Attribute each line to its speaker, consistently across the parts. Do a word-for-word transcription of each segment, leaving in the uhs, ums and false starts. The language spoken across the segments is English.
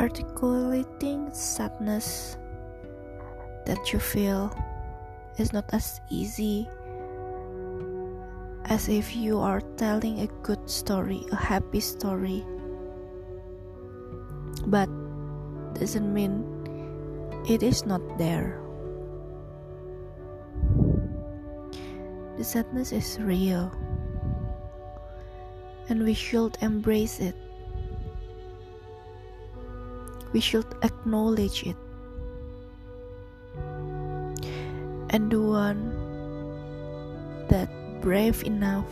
Speaker 1: Articulating sadness that you feel is not as easy as if you are telling a good story, a happy story. But doesn't mean it is not there. The sadness is real, and we should embrace it. We should acknowledge it. And the one that brave enough,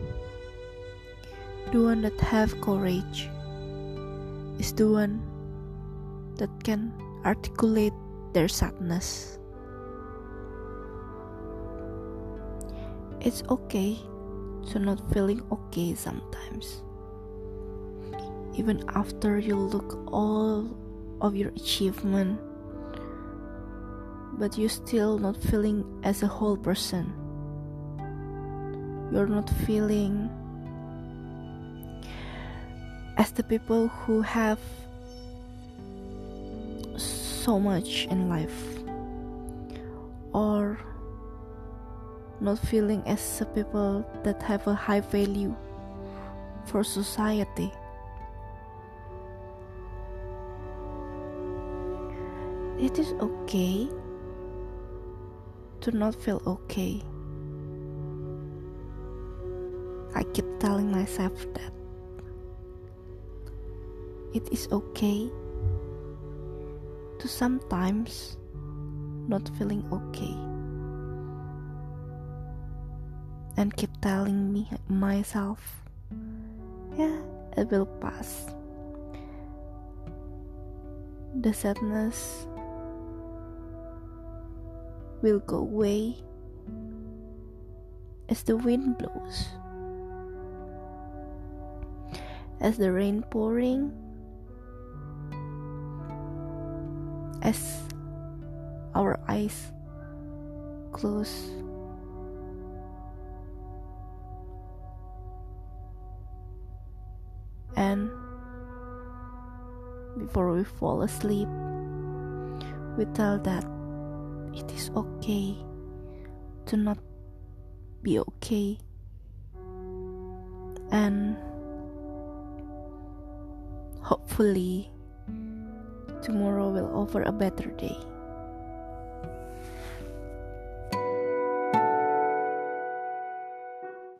Speaker 1: the one that have courage, is the one that can articulate their sadness. It's okay to not feeling okay sometimes. Even after you look all of your achievement, but you still not feeling as a whole person. You're not feeling as the people who have so much in life, or not feeling as the people that have a high value for society. It is okay to not feel okay. I keep telling myself that it is okay to sometimes not feeling okay, and keep telling me myself, yeah, it will pass. The sadness will go away as the wind blows, as the rain pouring, as our eyes close. And before we fall asleep, we tell that it is okay to not be okay, and hopefully tomorrow will offer a better day.